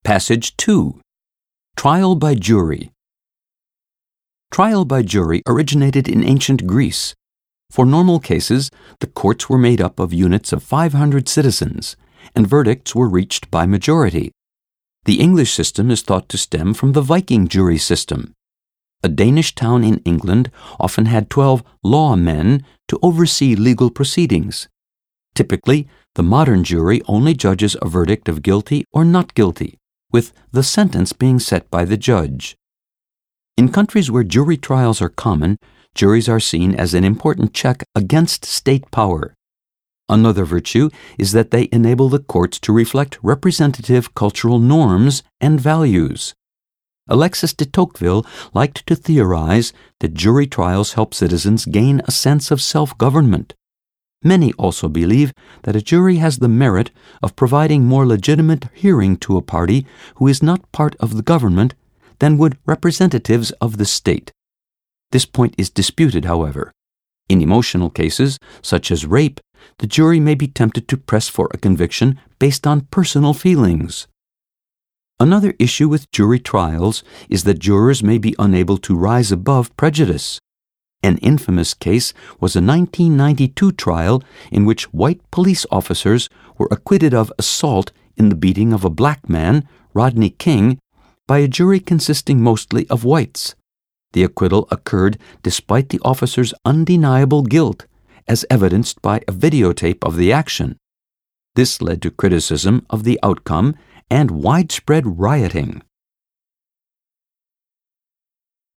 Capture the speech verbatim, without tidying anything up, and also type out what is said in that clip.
Passage two. Trial by jury. Trial by jury originated in ancient Greece. For normal cases, the courts were made up of units of five hundred citizens, and verdicts were reached by majority. The English system is thought to stem from the Viking jury system. A Danish town in England often had twelve lawmen to oversee legal proceedings. Typically, the modern jury only judges a verdict of guilty or not guilty, with the sentence being set by the judge. In countries where jury trials are common, juries are seen as an important check against state power. Another virtue is that they enable the courts to reflect representative cultural norms and values. Alexis de Tocqueville liked to theorize that jury trials help citizens gain a sense of self-government. Many also believe that a jury has the merit of providing more legitimate hearing to a party who is not part of the government than would representatives of the state. This point is disputed, however. In emotional cases, such as rape, the jury may be tempted to press for a conviction based on personal feelings. Another issue with jury trials is that jurors may be unable to rise above prejudice. An infamous case was a nineteen ninety-two trial in which white police officers were acquitted of assault in the beating of a black man, Rodney King, by a jury consisting mostly of whites. The acquittal occurred despite the officer's undeniable guilt, as evidenced by a videotape of the action. This led to criticism of the outcome and widespread rioting.